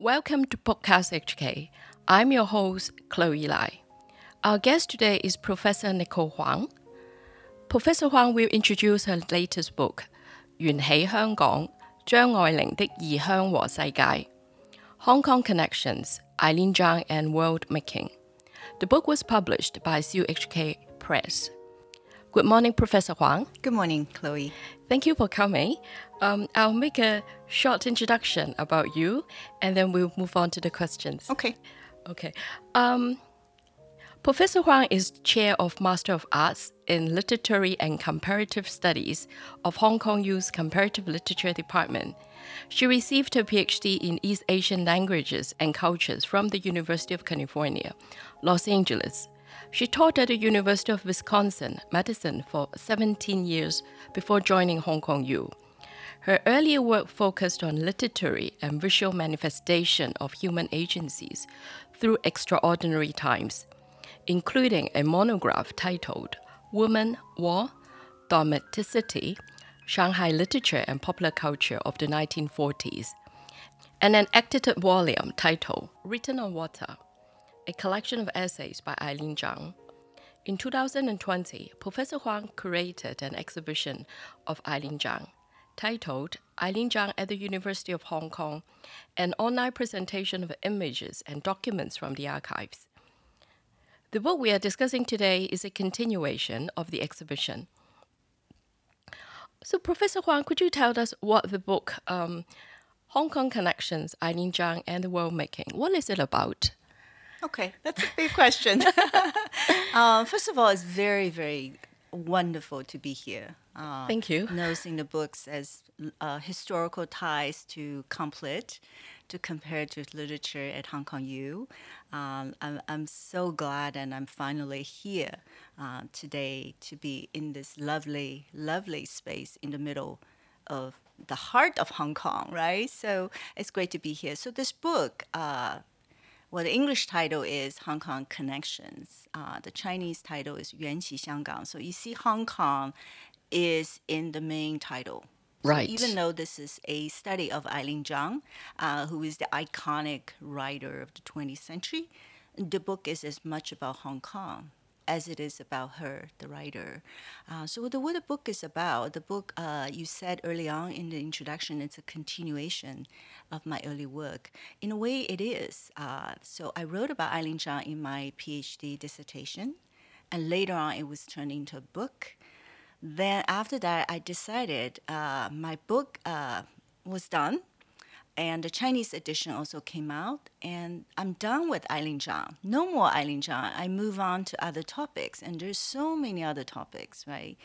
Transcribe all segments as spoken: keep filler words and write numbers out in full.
Welcome to Podcast H K. I'm your host, Chloe Lai. Our guest today is Professor Nicole Huang. Professor Huang will introduce her latest book, 緣起香港張愛玲的異鄉和世界 Hong Kong Connections, Eileen Zhang and World Making. The book was published by C U H K Press. Good morning, Professor Huang. Good morning, Chloe. Thank you for coming. Um, I'll make a short introduction about you, and then we'll move on to the questions. Okay. Okay. Um, Professor Huang is Chair of Master of Arts in Literary and Comparative Studies of Hong Kong U's Comparative Literature Department. She received her PhD in East Asian Languages and Cultures from the University of California, Los Angeles. She taught at the University of Wisconsin-Madison for seventeen years before joining Hong Kong U. Her earlier work focused on literary and visual manifestation of human agencies through extraordinary times, including a monograph titled Woman, War, Domesticity, Shanghai Literature and Popular Culture of the nineteen forties, and an edited volume titled Written on Water, a collection of essays by Eileen Zhang. In two thousand twenty, Professor Huang curated an exhibition of Eileen Zhang titled Eileen Zhang at the University of Hong Kong, an online presentation of images and documents from the archives. The book we are discussing today is a continuation of the exhibition. So, Professor Huang, could you tell us what the book, um, Hong Kong Connections, Eileen Zhang and the World Making, what is it about? Okay, that's a big question. uh, first of all, it's very, very wonderful to be here. Uh, Thank you. Noticing the books as uh, historical ties to complete, to comparative literature at Hong Kong U. Um, I'm, I'm so glad and I'm finally here uh, today to be in this lovely, lovely space in the middle of the heart of Hong Kong, right? So it's great to be here. So this book, uh, well, the English title is Hong Kong Connections. Uh, the Chinese title is 缘起香港. So you see Hong Kong is in the main title. Right. So even though this is a study of Eileen Zhang, uh, who is the iconic writer of the twentieth century, the book is as much about Hong Kong as it is about her, the writer. Uh, so the, what the book is about, the book, uh, you said early on in the introduction, it's a continuation of my early work. In a way, it is. Uh, so I wrote about Eileen Zhang in my PhD dissertation, and later on it was turned into a book. Then after that, I decided uh, my book uh, was done, and the Chinese edition also came out, and I'm done with Eileen Zhang. No more Eileen Zhang. I move on to other topics, and there's so many other topics, right?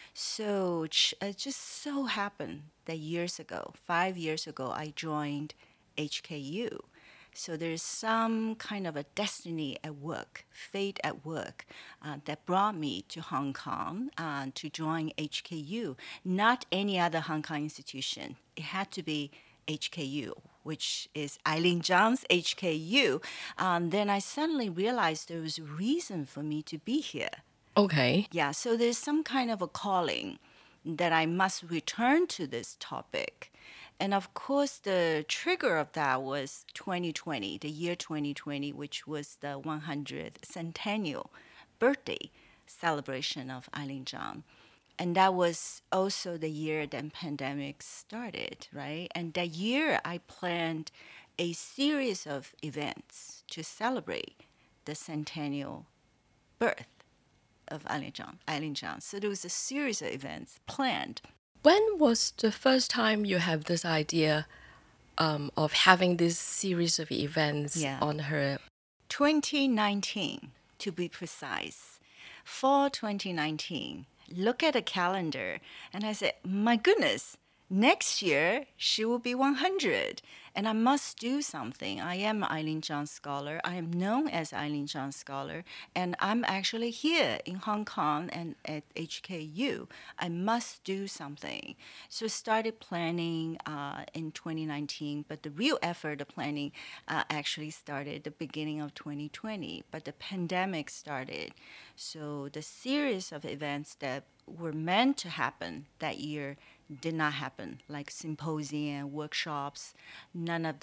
So it just so happened that years ago, five years ago, I joined H K U. So there's some kind of a destiny at work, fate at work, uh, that brought me to Hong Kong uh, to join H K U, not any other Hong Kong institution. It had to be H K U, which is Eileen Zhang's H K U. Um, then I suddenly realized there was a reason for me to be here. Okay. Yeah, so there's some kind of a calling that I must return to this topic. And of course, the trigger of that was twenty twenty, the year twenty twenty, which was the one hundredth centennial birthday celebration of Eileen Zhang. And that was also the year that pandemic started, right? And that year, I planned a series of events to celebrate the centennial birth of Eileen Zhang. Eileen Zhang. So there was a series of events planned. When was the first time you have this idea um, of having this series of events Yeah. on her? twenty nineteen, to be precise. Fall twenty nineteen. Look at the calendar. And I said, my goodness, next year she will be one hundred. And I must do something. I am Eileen Zhang scholar. I am known as Eileen Zhang scholar. And I'm actually here in Hong Kong and at H K U. I must do something. So I started planning uh, in twenty nineteen. But the real effort of planning uh, actually started the beginning of twenty twenty. But the pandemic started. So the series of events that were meant to happen that year did not happen, like symposium, workshops, none of that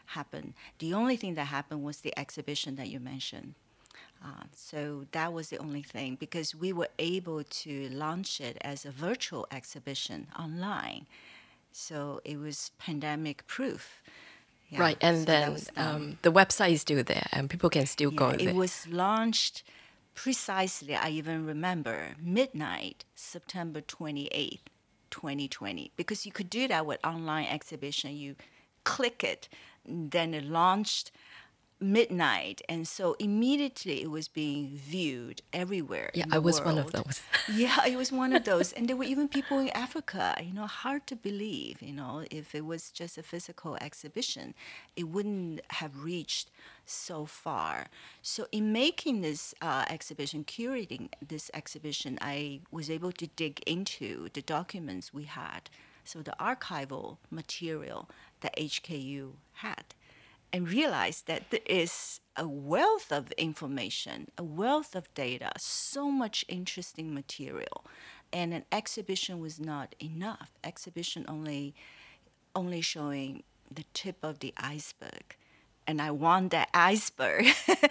happen. The only thing that happened was the exhibition that you mentioned. Uh, so that was the only thing because we were able to launch it as a virtual exhibition online. So it was pandemic proof. Yeah, Right, and so then um, the website is still there, and people can still yeah, go it there. was launched precisely, I even remember, midnight, September twenty-eighth, twenty twenty. Because you could do that with online exhibition. You click it, then it launched midnight, and so immediately it was being viewed everywhere Yeah, in I the was world. one of those. Yeah, it was one of those, and there were even people in Africa. You know, hard to believe. You know, if it was just a physical exhibition, it wouldn't have reached so far. So, in making this uh, exhibition, curating this exhibition, I was able to dig into the documents we had, so the archival material that H K U had, and realize that there is a wealth of information, a wealth of data, so much interesting material. And an exhibition was not enough. Exhibition only only showing the tip of the iceberg. And I want that iceberg.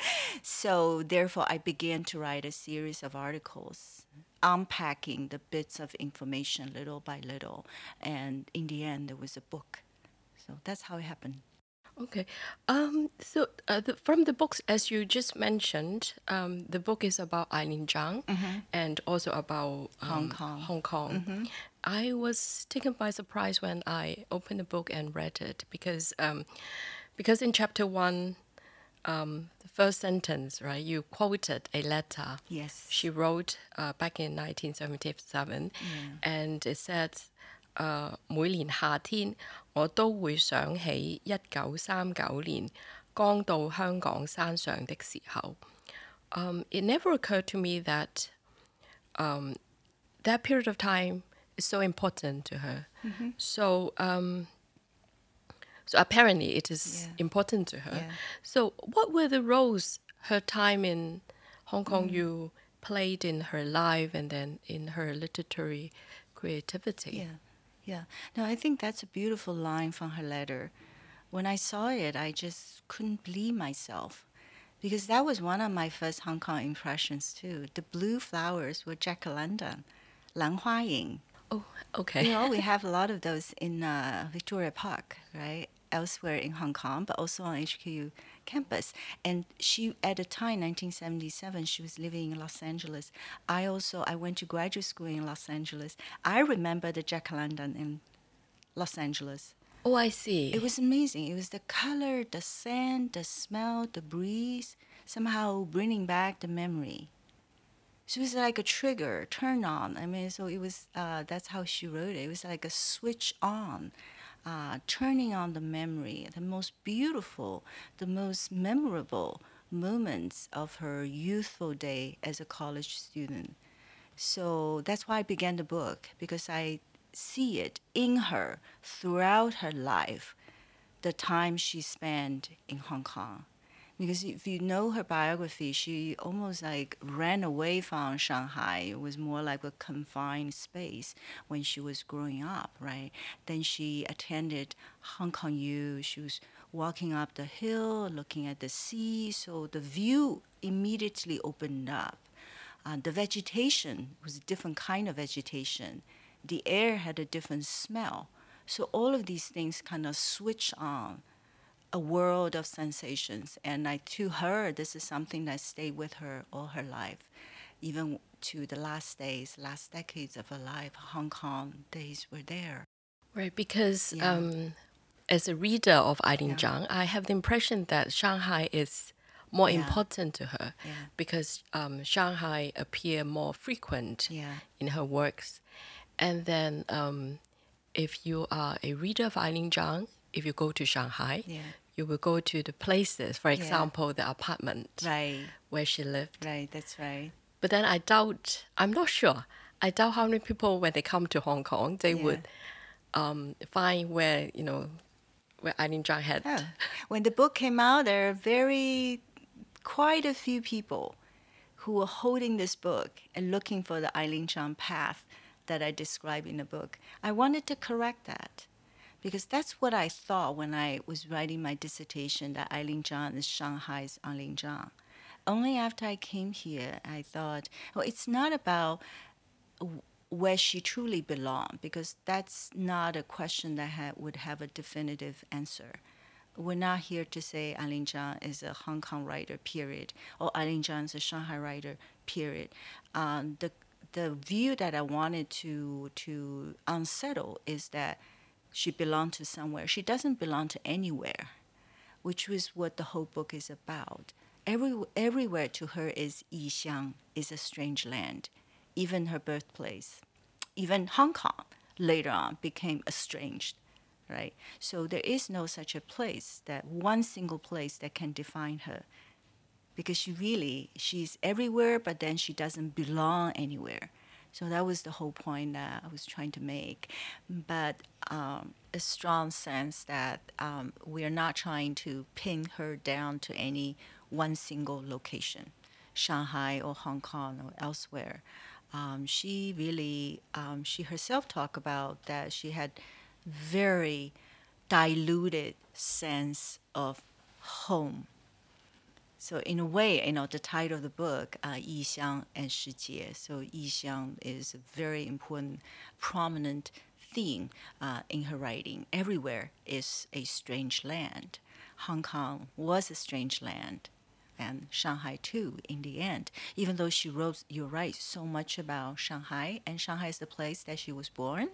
So therefore I began to write a series of articles unpacking the bits of information little by little. And in the end there was a book. So that's how it happened. Okay. Um, so uh, the, from the books, as you just mentioned, um, the book is about Eileen Zhang and also about um, Hong Kong. Hong Kong. I was taken by surprise when I opened the book and read it because um, because in chapter one, um, the first sentence, right, you quoted a letter Yes. she wrote uh, back in nineteen seventy-seven, and it said, 誒、每年夏天我都會想起一九三九年剛到香港山上的時候。Um, it never occurred to me that um, that period of time is so important to her. So, um, so apparently it is Yeah. important to her. Yeah. So, what were the roles her time in Hong Kong you played in her life and then in her literary creativity? Yeah, yeah. No, I think that's a beautiful line from her letter. When I saw it, I just couldn't believe myself because that was one of my first Hong Kong impressions too. The blue flowers were jacaranda, Lan Hua Ying. Oh, okay. You know, we have a lot of those in uh, Victoria Park, right? Elsewhere in Hong Kong, but also on H K U campus. And she, at the time, nineteen seventy-seven, she was living in Los Angeles. I also, I went to graduate school in Los Angeles. I remember the jacaranda in Los Angeles. Oh, I see. It was amazing. It was the color, the scent, the smell, the breeze, somehow bringing back the memory. So it was like a trigger, turn on. I mean, so it was, uh, that's how she wrote it. It was like a switch on, uh, turning on the memory, the most beautiful, the most memorable moments of her youthful day as a college student. So that's why I began the book, because I see it in her throughout her life, the time she spent in Hong Kong. Because if you know her biography, she almost like ran away from Shanghai. It was more like a confined space when she was growing up, right? Then she attended Hong Kong U. She was walking up the hill, looking at the sea, so the view immediately opened up. Uh, the vegetation was a different kind of vegetation. The air had a different smell. So all of these things kind of switch on a world of sensations. And I, to her, this is something that stayed with her all her life, even to the last days, last decades of her life. Hong Kong days were there. Right, because Yeah. um, as a reader of Eileen Yeah. Zhang, I have the impression that Shanghai is more Yeah. important to her Yeah. because um, Shanghai appear more frequent Yeah. in her works. And then um, if you are a reader of Eileen Zhang, if you go to Shanghai, Yeah. you will go to the places, for example, the apartment Right. where she lived. Right. That's right. But then I doubt, I'm not sure, I doubt how many people, when they come to Hong Kong, they Yeah. would um, find where, you know, where Eileen Zhang had. Oh. When the book came out, there are very, quite a few people who were holding this book and looking for the Eileen Zhang path that I describe in the book. I wanted to correct that because that's what I thought when I was writing my dissertation, that Eileen Zhang is Shanghai's Eileen Zhang. Only after I came here, I thought, well, it's not about where she truly belonged, because that's not a question that ha- would have a definitive answer. We're not here to say Eileen Zhang is a Hong Kong writer, period, or Eileen Zhang is a Shanghai writer, period. Um, the the view that I wanted to to unsettle is that she belonged to somewhere. She doesn't belong to anywhere, which was what the whole book is about. Every, everywhere to her is Yixiang, is a strange land. Even her birthplace, even Hong Kong later on became estranged, right? So there is no such a place, that one single place that can define her, because she really, she's everywhere, but then she doesn't belong anywhere. So that was the whole point that I was trying to make. But um, a strong sense that um, we are not trying to pin her down to any one single location, Shanghai or Hong Kong or elsewhere. Um, she really, um, she herself talked about that she had very diluted sense of home. So in a way, you know, the title of the book, uh, 异乡 and 世界. So 异乡 is a very important, prominent theme uh, in her writing. Everywhere is a strange land. Hong Kong was a strange land, and Shanghai too, in the end. Even though she wrote, you're right, so much about Shanghai, and Shanghai is the place that she was born,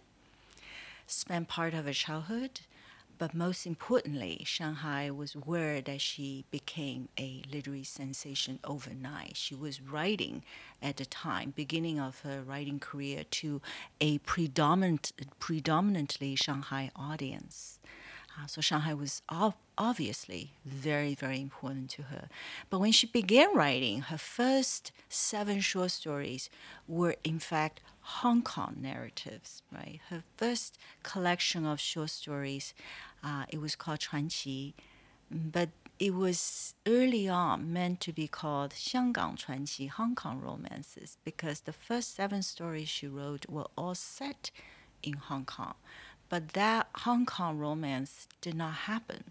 spent part of her childhood. But most importantly, Shanghai was where that she became a literary sensation overnight. She was writing at the time, beginning of her writing career, to a predominant, predominantly Shanghai audience. Uh, so Shanghai was ov- obviously very, very important to her. But when she began writing, her first seven short stories were in fact Hong Kong narratives, right? Her first collection of short stories, uh, it was called 传奇, but it was early on meant to be called 香港传奇, Hong Kong romances, because the first seven stories she wrote were all set in Hong Kong. But that Hong Kong romance did not happen.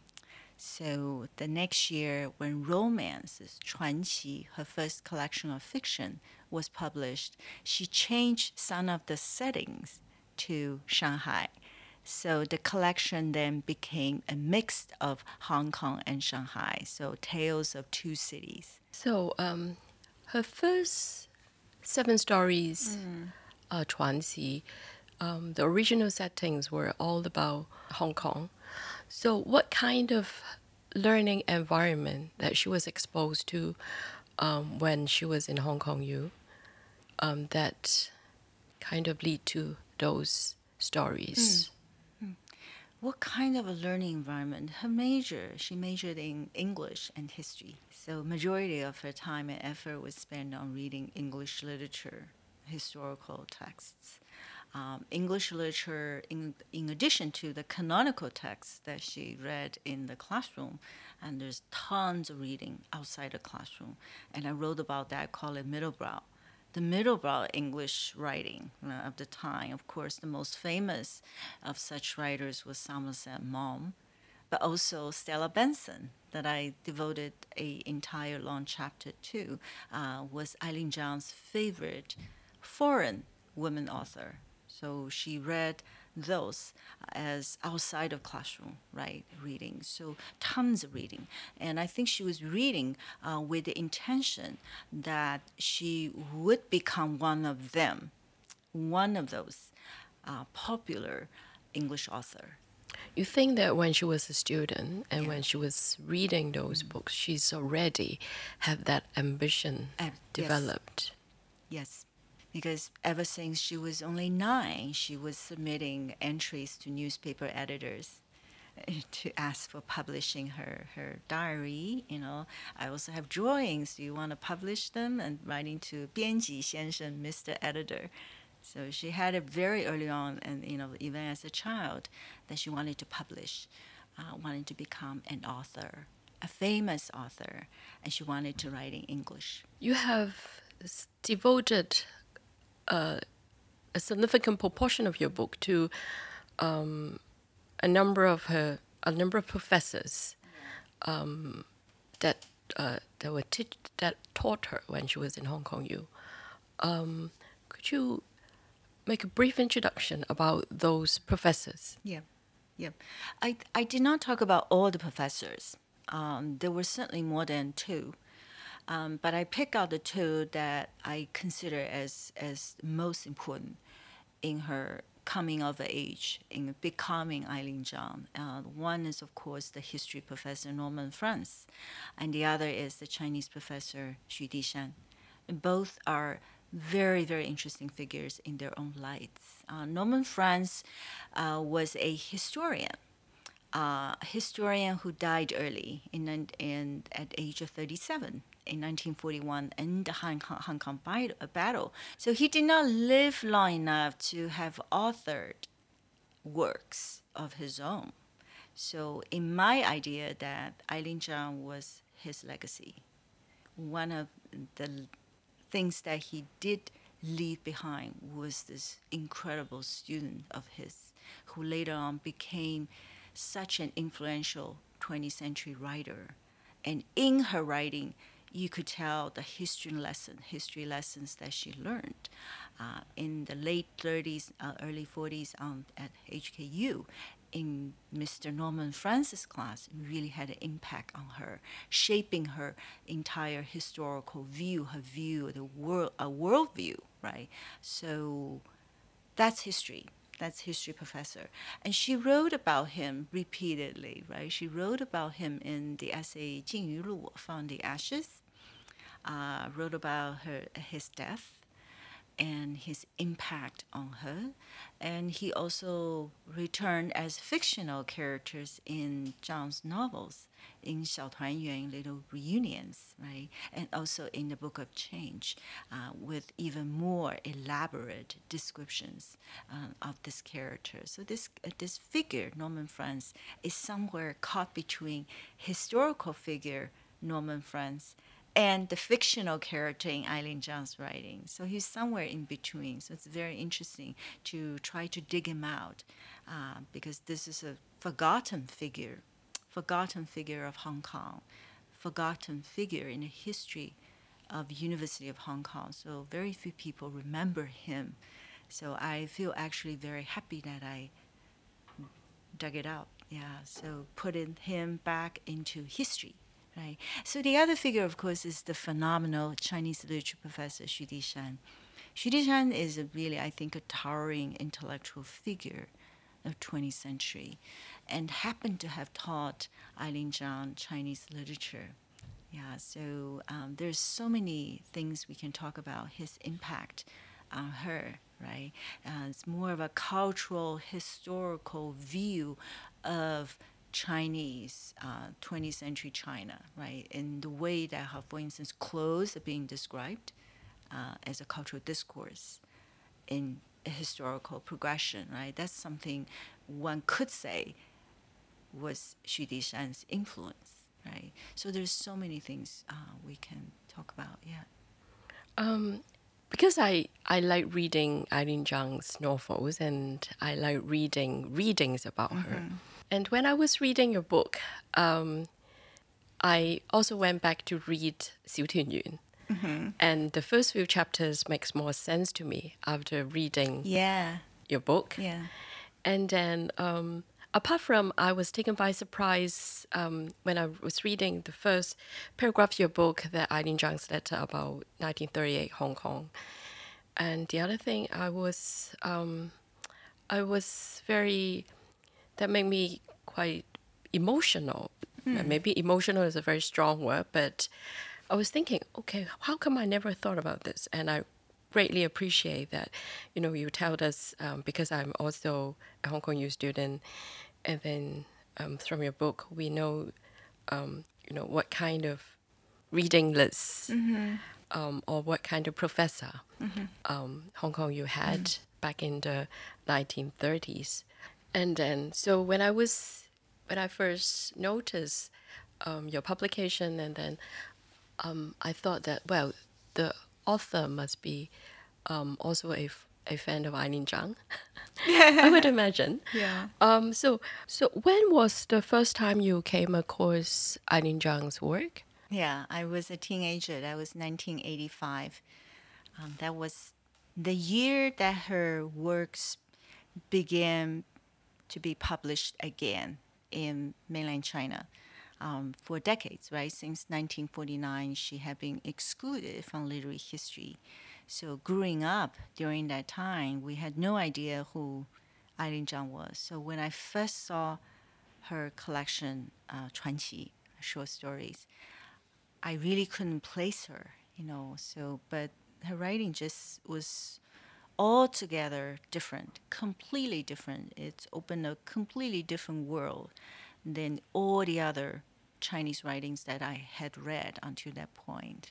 So the next year, when Romances, 传奇, her first collection of fiction, was published, she changed some of the settings to Shanghai. So the collection then became a mix of Hong Kong and Shanghai, so tales of two cities. So um, her first seven stories, mm. uh, 传奇, um, the original settings were all about Hong Kong. So what kind of learning environment that she was exposed to um, when she was in Hong Kong U um, that kind of lead to those stories? Mm. Mm. What kind of a learning environment? Her major, she majored in English and history. So majority of her time and effort was spent on reading English literature, historical texts. Um, English literature, in, in addition to the canonical texts that she read in the classroom, and there's tons of reading outside the classroom. And I wrote about that, called it middlebrow. The middlebrow English writing uh, of the time. Of course, the most famous of such writers was Somerset Maugham, but also Stella Benson, that I devoted an entire long chapter to, uh, was Eileen Zhang's favorite foreign women author. So she read those as outside of classroom, right, reading. So tons of reading. And I think she was reading uh, with the intention that she would become one of them, one of those uh, popular English author. You think that when she was a student and yeah. when she was reading those mm. books, she's already had that ambition uh, developed? Yes. yes. Because ever since she was only nine, she was submitting entries to newspaper editors to ask for publishing her, her diary. You know, I also have drawings. Do you want to publish them? And writing to 编辑先生, Mister Editor. So she had it very early on, and you know, even as a child, that she wanted to publish, uh, wanted to become an author, a famous author, and she wanted to write in English. You have devoted uh, a significant proportion of your book to um, a number of her, a number of professors um, that uh, that were teach, that taught her when she was in Hong Kong U. Um, could you make a brief introduction about those professors? Yeah, yeah. I I did not talk about all the professors. Um, there were certainly more than two, um, but I pick out the two that I consider as as most important in her coming of age, in becoming Eileen Zhang. Uh, one is, of course, the history professor Norman Franz, and the other is the Chinese professor Xu Dishan. And both are very, very interesting figures in their own lights. Uh, Norman Franz uh, was a historian, uh, a historian who died early in, in at age of thirty-seven in nineteen forty-one in the Hong Kong, Hong Kong battle. So he did not live long enough to have authored works of his own. So in my idea that Eileen Zhang was his legacy, one of the things that he did leave behind was this incredible student of his who later on became such an influential twentieth century writer. And in her writing, you could tell the history lesson, history lessons that she learned uh, in the late thirties, uh, early forties um, at H K U. In Mister Norman Francis' class really had an impact on her, shaping her entire historical view, her view, the world, a worldview, right? So that's history. That's history professor. And she wrote about him repeatedly, right? She wrote about him in the essay 静于路, From the Ashes, uh, wrote about her his death and his impact on her. And he also returned as fictional characters in Zhang's novels, in 小团圆, Little Reunions, right? And also in the Book of Change, uh, with even more elaborate descriptions uh, of this character. So this, uh, this figure, Norman Franz, is somewhere caught between historical figure Norman Franz and the fictional character in Eileen Zhang's writing. So he's somewhere in between. So it's very interesting to try to dig him out uh, because this is a forgotten figure, forgotten figure of Hong Kong, forgotten figure in the history of University of Hong Kong. So very few people remember him. So I feel actually very happy that I dug it out. Yeah, so putting him back into history. Right. So the other figure, of course, is the phenomenal Chinese literature professor Xu Dishan. Xu Dishan is a really, I think, a towering intellectual figure of twentieth century and happened to have taught Eileen Zhang Chinese literature. Yeah, so um, there's so many things we can talk about his impact on her, right? Uh, it's more of a cultural, historical view of Chinese, uh, twentieth century China, right? In the way that, how, for instance, clothes are being described uh, as a cultural discourse in a historical progression, right? That's something one could say was Xu Dishan's influence, right? So there's so many things uh, we can talk about, yeah. Um, because I, I like reading Eileen Zhang's novels and I like reading readings about mm-hmm. her. And when I was reading your book, um, I also went back to read Xiu Tianyun. Mm-hmm. And the first few chapters makes more sense to me after reading yeah. your book. Yeah. And then um, apart from I was taken by surprise um, when I was reading the first paragraph of your book, that Eileen Zhang's letter about nineteen thirty-eight Hong Kong. And the other thing I was, um, I was very, that made me quite emotional. Mm. Maybe emotional is a very strong word, but I was thinking, okay, how come I never thought about this? And I greatly appreciate that, you know, you told us, um, because I'm also a Hong Kong U student, and then um, from your book, we know, um, you know, what kind of reading list mm-hmm. um, or what kind of professor mm-hmm. um, Hong Kong U had mm-hmm. back in the nineteen thirties. And then, so when I was, when I first noticed um, your publication, and then um, I thought that, well, the author must be um, also a, a fan of Eileen Zhang. I would imagine. Yeah. Um, so, so when was the first time you came across Eileen Zhang's work? Yeah, I was a teenager. That was nineteen eighty-five. Um, that was the year that her works began to be published again in mainland China. Um, for decades, right? Since nineteen forty-nine, she had been excluded from literary history. So growing up during that time, we had no idea who Eileen Zhang was. So when I first saw her collection, uh, 传奇, short stories, I really couldn't place her, you know. So, but her writing just was altogether different, completely different. It's opened a completely different world than all the other Chinese writings that I had read until that point.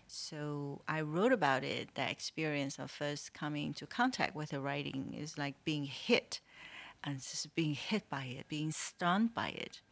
So I wrote about it. That experience of first coming into contact with her writing is like being hit, and just being hit by it, being stunned by it.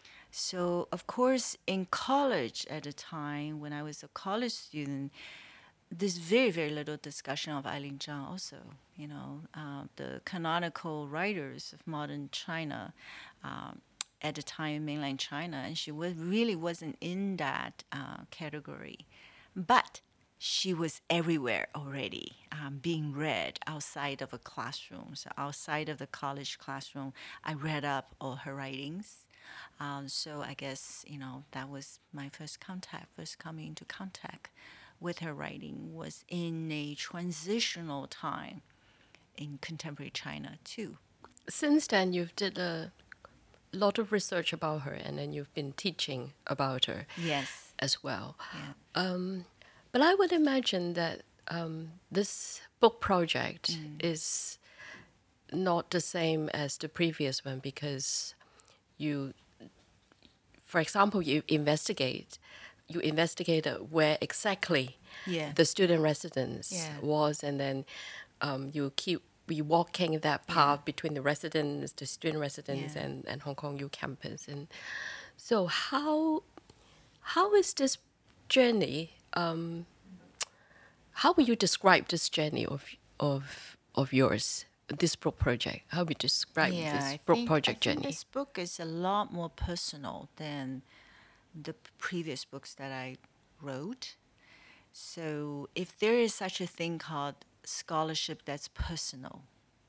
So, of course, in college at the time, when I was a college student, there's very, very little discussion of Eileen Zhang also. You know, uh, the canonical writers of modern China um, at the time in mainland China, and she was, really wasn't in that uh, category. But she was everywhere already, um, being read outside of a classroom. So outside of the college classroom, I read up all her writings. Um, so I guess, you know, that was my first contact, first coming into contact with her writing was in a transitional time in contemporary China too. Since then, you've did a lot of research about her, and then you've been teaching about her Yes. as well. Yeah. Um, but I would imagine that um, this book project mm. is not the same as the previous one because you, for example, you investigate, you investigated where exactly yeah. the student residence yeah. was, and then um, you keep we walking that path yeah. between the residence, the student residence, yeah. and, and Hong Kong U campus. And so, how how is this journey? Um, how would you describe this journey of of of yours? This book project. How would you describe yeah, this I book think, project I think journey? This book is a lot more personal than the previous books that I wrote. So, if there is such a thing called scholarship that's personal,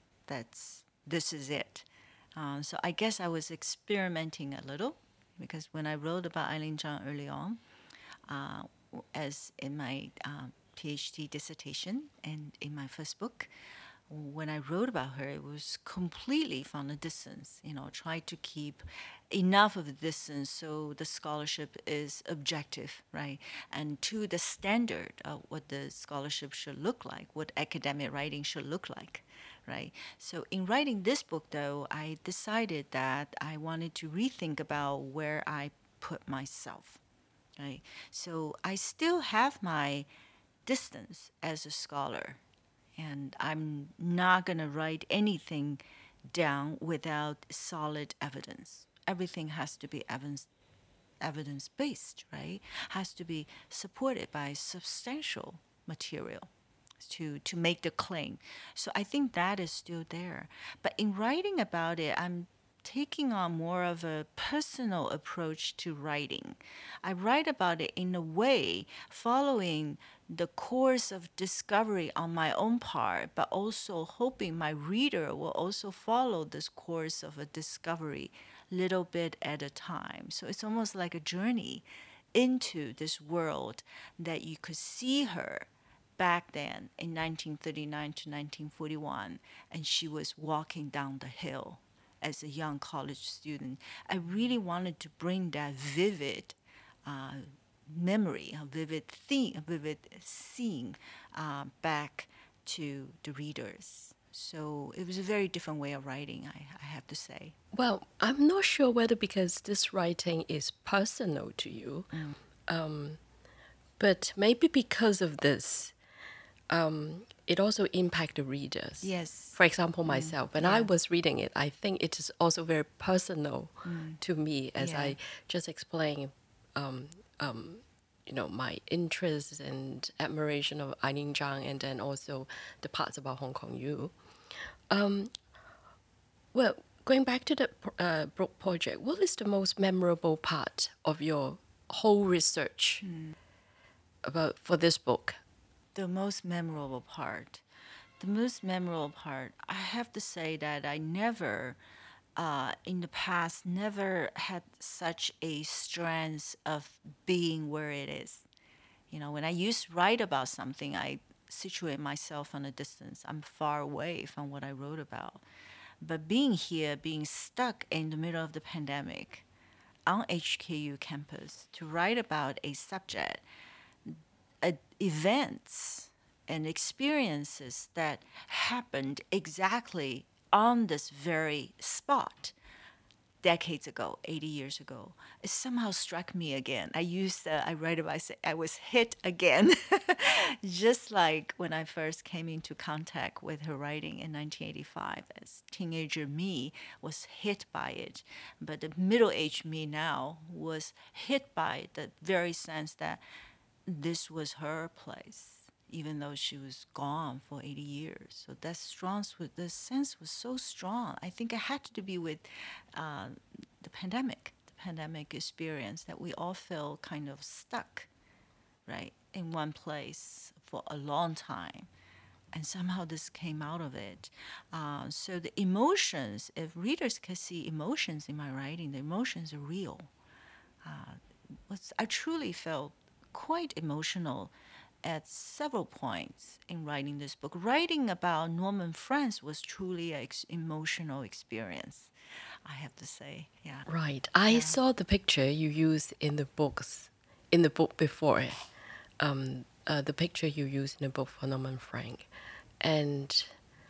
that's this is it. Um, so I guess I was experimenting a little because when I wrote about Eileen Zhang early on, uh, as in my um, PhD dissertation and in my first book, when I wrote about her, it was completely from a distance, you know, try to keep enough of a distance so the scholarship is objective, right? And to the standard of what the scholarship should look like, what academic writing should look like, right? So in writing this book, though, I decided that I wanted to rethink about where I put myself, right? So I still have my distance as a scholar, and I'm not going to write anything down without solid evidence. Everything has to be evidence evidence based, right? Has to be supported by substantial material to to make the claim. So I think that is still there. But in writing about it, I'm taking on more of a personal approach to writing. I write about it in a way following the course of discovery on my own part, but also hoping my reader will also follow this course of a discovery little bit at a time. So it's almost like a journey into this world that you could see her back then in nineteen thirty-nine to nineteen forty-one, and she was walking down the hill as a young college student. I really wanted to bring that vivid uh, memory, a vivid theme, a vivid scene uh, back to the readers. So it was a very different way of writing, I, I have to say. Well, I'm not sure whether because this writing is personal to you, mm. um, but maybe because of this, um, it also impacts the readers. Yes. For example, myself, mm. when yeah. I was reading it, I think it is also very personal mm. to me, as yeah. I just explained um, um, you know, my interest and admiration of Eileen Zhang, and then also the parts about Hong Kong U. Um, well, going back to the uh, book project, what is the most memorable part of your whole research about for this book? The most memorable part. The most memorable part, I have to say that I never, uh, in the past, never had such a strength of being where it is. You know, when I used to write about something, I situate myself on a distance. I'm far away from what I wrote about. But being here, being stuck in the middle of the pandemic on H K U campus to write about a subject, uh, events and experiences that happened exactly on this very spot decades ago, eighty years ago, it somehow struck me again. I used, uh, I write about, I say, I was hit again. Just like when I first came into contact with her writing in nineteen eighty-five, as teenager me was hit by it. But the middle-aged me now was hit by the very sense that this was her place, even though she was gone for eighty years. So that strong, the sense was so strong. I think it had to be with uh, the pandemic, the pandemic experience that we all feel kind of stuck, right, in one place for a long time. And somehow this came out of it. Uh, so the emotions, if readers can see emotions in my writing, the emotions are real. Uh, was I truly felt quite emotional at several points in writing this book. Writing about Norman France was truly an ex- emotional experience, I have to say. Yeah. Right. I Yeah. saw the picture you used in the books, in the book before, um, uh, the picture you used in the book for Norman Frank. And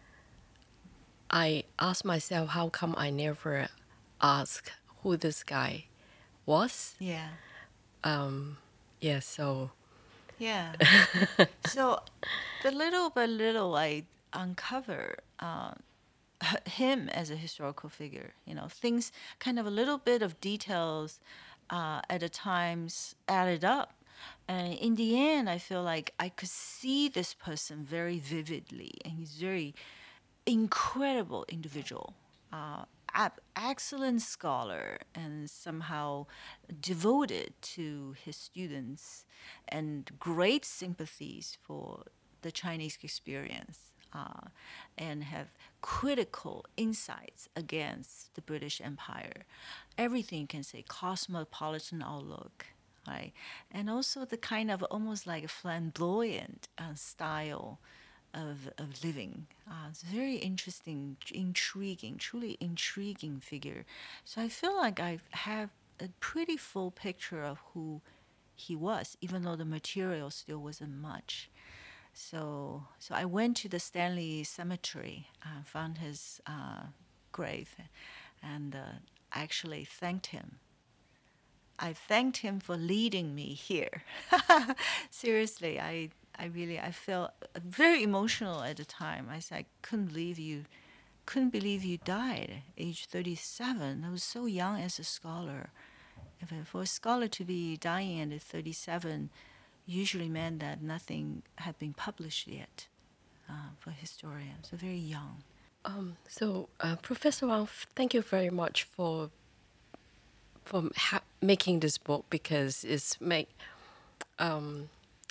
I asked myself, how come I never asked who this guy was? Yeah. Um, yeah, so. Yeah. So, the little by little, I uncover uh, him as a historical figure. You know, things, kind of a little bit of details uh, at a times added up. And in the end, I feel like I could see this person very vividly, and he's very incredible individual, uh, ab- excellent scholar, and somehow devoted to his students, and great sympathies for the Chinese experience, uh, and have critical insights against the British Empire. Everything you can say, cosmopolitan outlook, right? And also the kind of almost like a flamboyant uh, style of, of living. Uh, it's very interesting, intriguing, truly intriguing figure. So I feel like I have a pretty full picture of who he was, even though the material still wasn't much. So, so I went to the Stanley Cemetery, uh, found his uh, grave, and uh, actually thanked him. I thanked him for leading me here. Seriously, I, I really, I felt very emotional at the time. I said, I couldn't believe you, couldn't believe you died at age thirty-seven. I was so young as a scholar. If I- For a scholar to be dying at thirty-seven usually meant that nothing had been published yet uh, for historians. So very young. Um, so, uh, Professor Wang, thank you very much for for ha- making this book, because it's make um,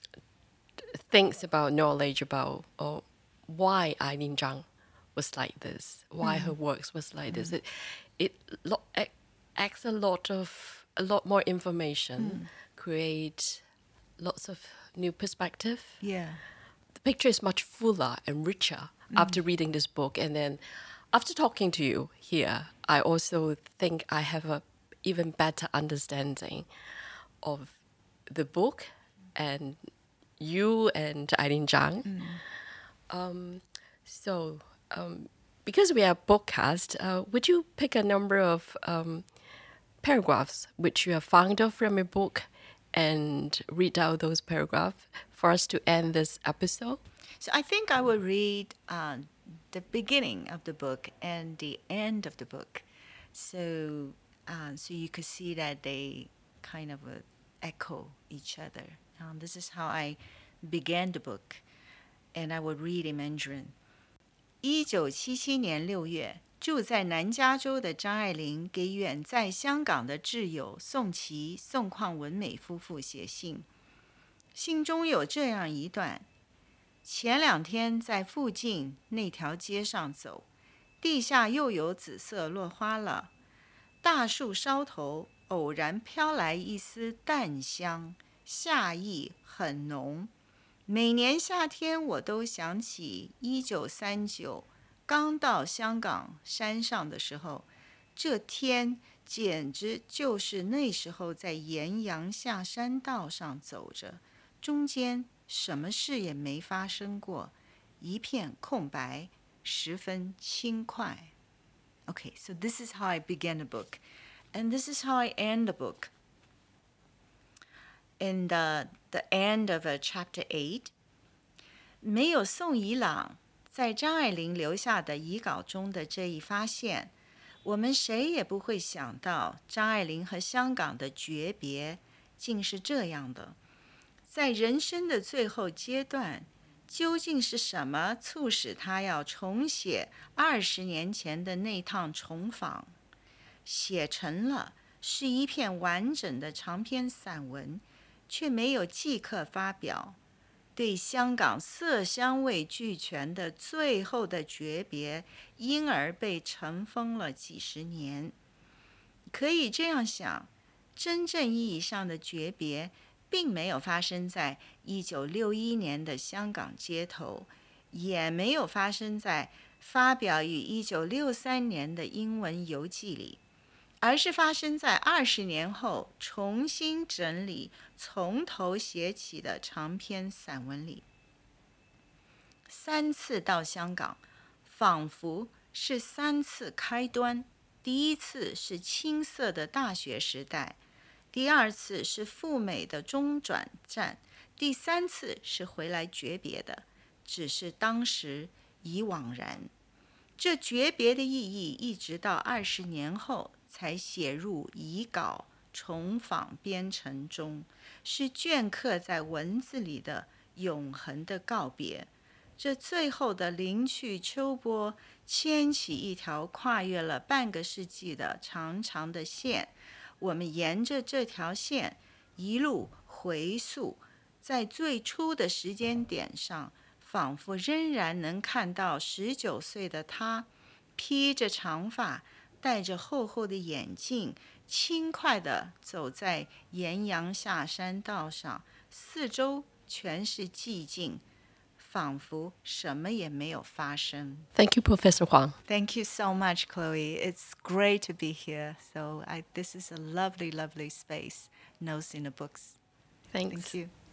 things about knowledge about or why Eileen Zhang was like this, why her works was like this. It it lo- ac- acts a lot of a lot more information, create lots of new perspective. Yeah. The picture is much fuller and richer after reading this book, and then after talking to you here, I also think I have a even better understanding of the book and you and Eileen Zhang. Um, so, um, because we are podcast, uh, would you pick a number of um, paragraphs which you have found out from your book and read out those paragraphs for us to end this episode? So I think I will read uh, the beginning of the book and the end of the book, so uh, so you could see that they kind of uh, echo each other. Um, this is how I began the book, and I would read in Mandarin. 一九七七年六月，住在南加州的张爱玲给远在香港的挚友宋琦、宋邝文美夫妇写信，信中有这样一段：前两天在附近那条街上走，地下又有紫色落花了，大树梢头偶然飘来一丝淡香，夏意很浓。每年夏天我都想起一九三九刚到香港山上的时候，这天简直就是那时候在岩阳下山道上走着，中间什么事也没发生过，一片空白，十分轻快。Okay, so this is how I began the book, and this is how I end the book. In the, the end of uh, chapter eight, 没有宋以朗在张爱玲留下的遗稿中的这一发现，我们谁也不会想到张爱玲和香港的诀别竟是这样的。在人生的最后阶段，究竟是什么促使她要重写二十年前的那趟重访？写成了，是一篇完整的长篇散文，却没有即刻发表。对香港色香味俱全的最后的诀别，因而被尘封了几十年。可以这样想，真正意义上的诀别并没有发生在一九六一年的香港街头，也没有发生在发表于一九六三年的英文游记里，而是发生在二十年后重新整理、从头写起的长篇散文里。三次到香港，仿佛是三次开端。第一次是青涩的大学时代，第二次是赴美的中转站，第三次是回来诀别的，只是当时已惘然。这诀别的意义一直到二十年后才写入遗稿重访编程中，是镌刻在文字里的永恒的告别。这最后的临去秋波，牵起一条跨越了半个世纪的长长的线。我们沿着这条线一路回溯，在最初的时间点上，仿佛仍然能看到十九岁的他，披着长发，戴着厚厚的眼镜，轻快地走在岩阳下山道上，四周全是寂静，仿佛什么也没有发生。 Thank you, Professor Huang. Thank you so much, Chloe. It's great to be here. So I, this is a lovely, lovely space. Notes in the books. Thanks. Thank you.